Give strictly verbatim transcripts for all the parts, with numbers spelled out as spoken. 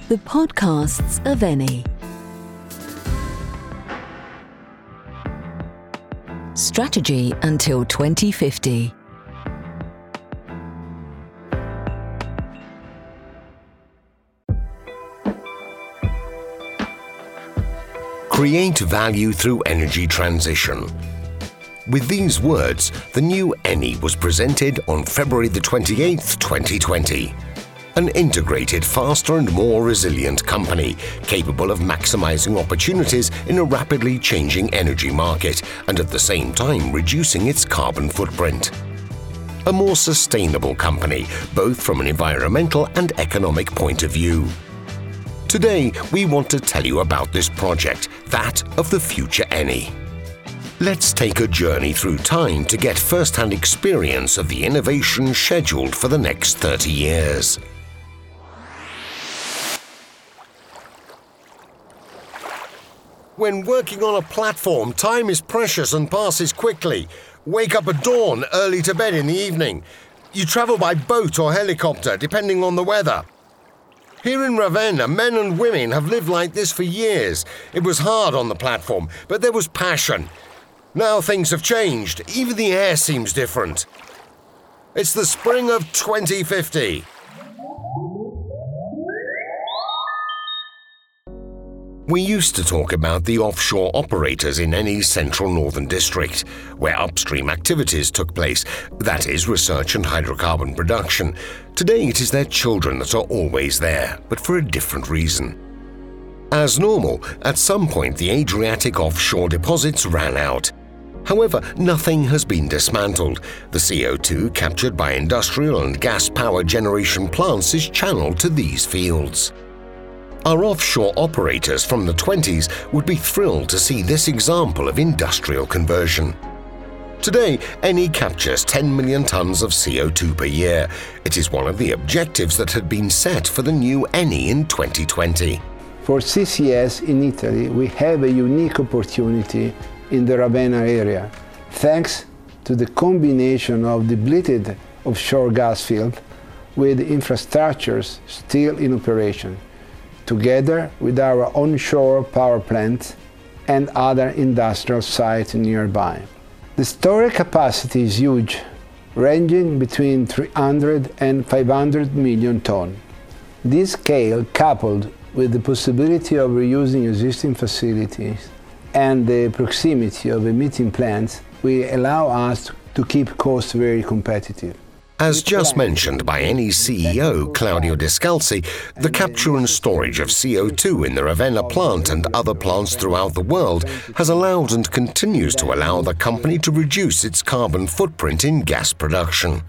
The podcasts of Eni. Strategy until twenty fifty. Create value through energy transition. With these words, the new Eni was presented on February the twenty-eighth, twenty twenty. An integrated, faster and more resilient company capable of maximizing opportunities in a rapidly changing energy market and at the same time reducing its carbon footprint. A more sustainable company, both from an environmental and economic point of view. Today, we want to tell you about this project, that of the future Eni. Let's take a journey through time to get first-hand experience of the innovation scheduled for the next thirty years. When working on a platform, time is precious and passes quickly. Wake up at dawn, early to bed in the evening. You travel by boat or helicopter, depending on the weather. Here in Ravenna, men and women have lived like this for years. It was hard on the platform, but there was passion. Now things have changed. Even the air seems different. It's the spring of twenty fifty. We used to talk about the offshore operators in Eni's central northern district, where upstream activities took place, that is, research and hydrocarbon production. Today it is their children that are always there, but for a different reason. As normal, at some point the Adriatic offshore deposits ran out. However, nothing has been dismantled. The C O two captured by industrial and gas power generation plants is channeled to these fields. Our offshore operators from the twenties would be thrilled to see this example of industrial conversion. Today, Eni captures ten million tons of C O two per year. It is one of the objectives that had been set for the new Eni in twenty twenty. For C C S in Italy, we have a unique opportunity in the Ravenna area, thanks to the combination of depleted offshore gas field with infrastructures still in operation, together with our onshore power plant and other industrial sites nearby. The storage capacity is huge, ranging between three hundred and five hundred million tons. This scale, coupled with the possibility of reusing existing facilities and the proximity of emitting plants, will allow us to keep costs very competitive. As just mentioned by Eni's C E O, Claudio Descalzi, the capture and storage of C O two in the Ravenna plant and other plants throughout the world has allowed and continues to allow the company to reduce its carbon footprint in gas production.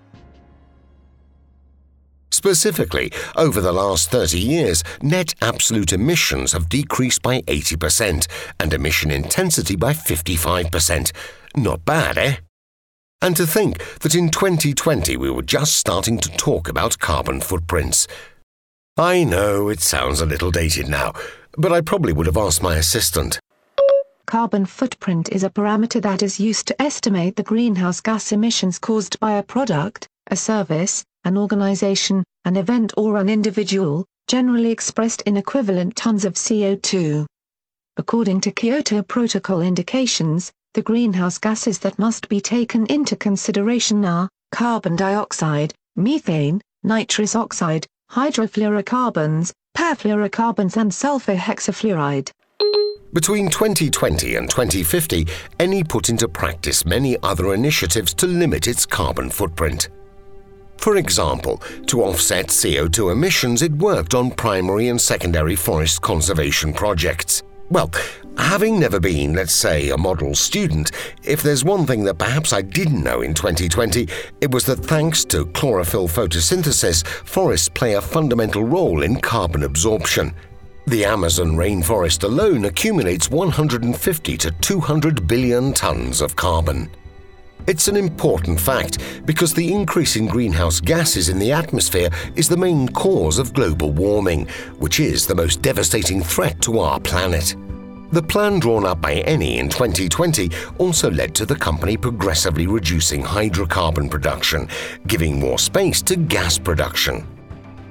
Specifically, over the last thirty years, net absolute emissions have decreased by eighty percent and emission intensity by fifty-five percent. Not bad, eh? And to think that in twenty twenty we were just starting to talk about carbon footprints. I know it sounds a little dated now, but I probably would have asked my assistant. Carbon footprint is a parameter that is used to estimate the greenhouse gas emissions caused by a product, a service, an organization, an event or an individual, generally expressed in equivalent tons of C O two. According to Kyoto Protocol indications, the greenhouse gases that must be taken into consideration are carbon dioxide, methane, nitrous oxide, hydrofluorocarbons, perfluorocarbons and sulfur hexafluoride. Between twenty twenty and twenty fifty, Eni put into practice many other initiatives to limit its carbon footprint. For example, to offset C O two emissions, it worked on primary and secondary forest conservation projects. Well, having never been, let's say, a model student, if there's one thing that perhaps I didn't know in twenty twenty, it was that thanks to chlorophyll photosynthesis, forests play a fundamental role in carbon absorption. The Amazon rainforest alone accumulates one hundred fifty to two hundred billion tons of carbon. It's an important fact because the increase in greenhouse gases in the atmosphere is the main cause of global warming, which is the most devastating threat to our planet. The plan drawn up by Eni in twenty twenty also led to the company progressively reducing hydrocarbon production, giving more space to gas production.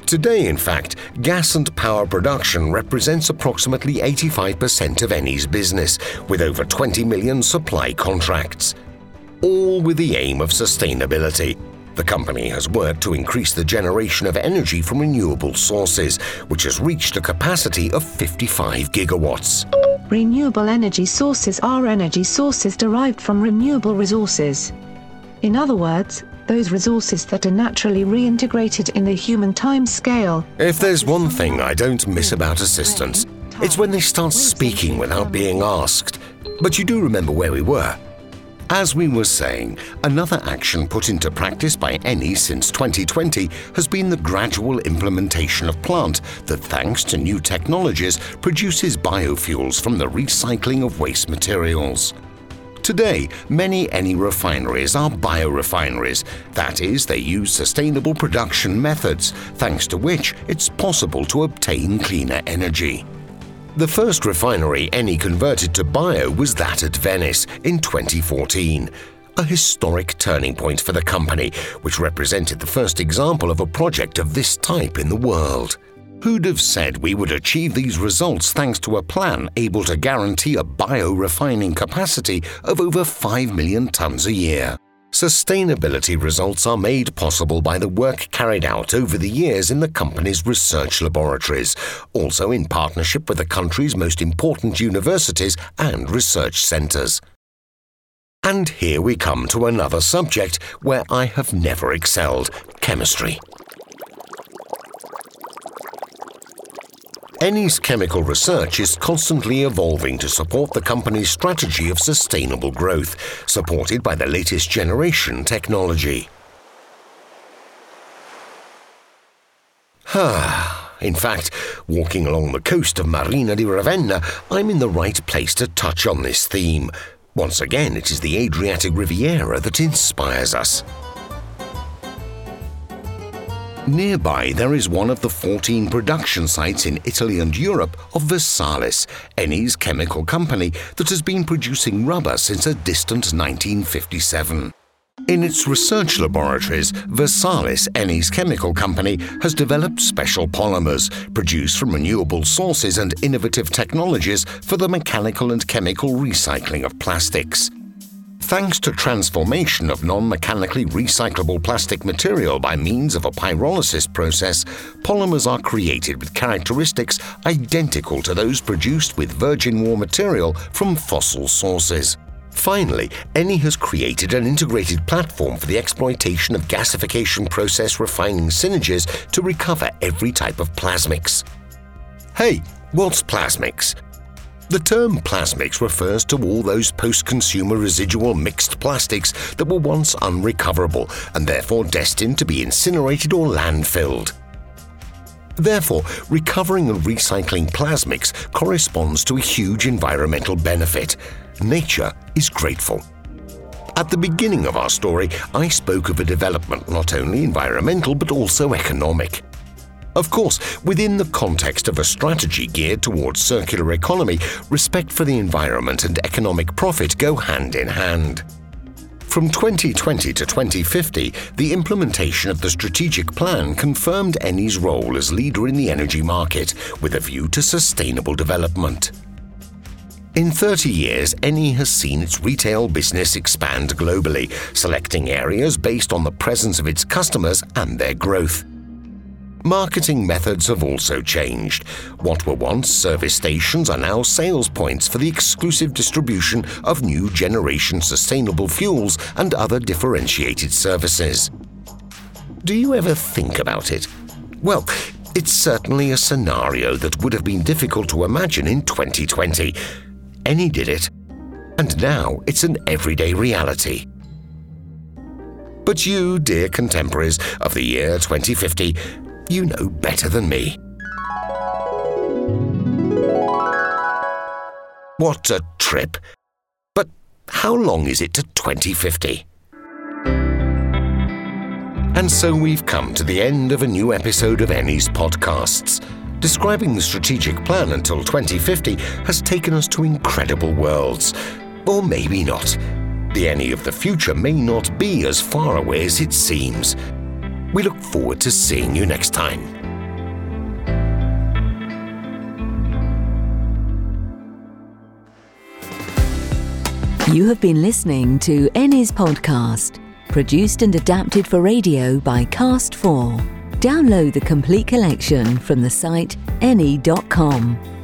Today, in fact, gas and power production represents approximately eighty-five percent of Eni's business, with over twenty million supply contracts. All with the aim of sustainability. The company has worked to increase the generation of energy from renewable sources, which has reached a capacity of fifty-five gigawatts. Renewable energy sources are energy sources derived from renewable resources. In other words, those resources that are naturally reintegrated in the human time scale. If there's one thing I don't miss about assistants, it's when they start speaking without being asked. But you do remember where we were. As we were saying, another action put into practice by Eni since twenty twenty has been the gradual implementation of plant that, thanks to new technologies, produces biofuels from the recycling of waste materials. Today, many Eni refineries are biorefineries. That is, they use sustainable production methods, thanks to which it's possible to obtain cleaner energy. The first refinery Eni converted to bio was that at Venice in twenty fourteen, a historic turning point for the company, which represented the first example of a project of this type in the world. Who'd have said we would achieve these results thanks to a plan able to guarantee a bio-refining capacity of over five million tons a year? Sustainability results are made possible by the work carried out over the years in the company's research laboratories, also in partnership with the country's most important universities and research centres. And here we come to another subject where I have never excelled: chemistry. Eni's chemical research is constantly evolving to support the company's strategy of sustainable growth, supported by the latest generation technology. In fact, walking along the coast of Marina di Ravenna, I'm in the right place to touch on this theme. Once again, it is the Adriatic Riviera that inspires us. Nearby, there is one of the fourteen production sites in Italy and Europe of Versalis, Eni's chemical company that has been producing rubber since a distant nineteen fifty-seven. In its research laboratories, Versalis, Eni's chemical company, has developed special polymers produced from renewable sources and innovative technologies for the mechanical and chemical recycling of plastics. Thanks to transformation of non-mechanically recyclable plastic material by means of a pyrolysis process, polymers are created with characteristics identical to those produced with virgin raw material from fossil sources. Finally, Eni has created an integrated platform for the exploitation of gasification process refining synergies to recover every type of plasmics. Hey, what's plasmics? The term plasmics refers to all those post-consumer residual mixed plastics that were once unrecoverable and therefore destined to be incinerated or landfilled. Therefore, recovering and recycling plasmics corresponds to a huge environmental benefit. Nature is grateful. At the beginning of our story, I spoke of a development not only environmental but also economic. Of course, within the context of a strategy geared towards circular economy, respect for the environment and economic profit go hand in hand. From twenty twenty to twenty fifty, the implementation of the strategic plan confirmed Eni's role as leader in the energy market, with a view to sustainable development. In thirty years, Eni has seen its retail business expand globally, selecting areas based on the presence of its customers and their growth. Marketing methods have also changed. What were once service stations are now sales points for the exclusive distribution of new generation sustainable fuels and other differentiated services. Do you ever think about it? Well, it's certainly a scenario that would have been difficult to imagine in twenty twenty. Eni did it, and now it's an everyday reality. But you, dear contemporaries of the year twenty fifty, you know better than me. What a trip! But how long is it to twenty fifty? And so we've come to the end of a new episode of Eni's podcasts. Describing the strategic plan until twenty fifty has taken us to incredible worlds. Or maybe not. The Eni of the future may not be as far away as it seems. We look forward to seeing you next time. You have been listening to Eni's podcast, produced and adapted for radio by Cast four. Download the complete collection from the site eni dot com.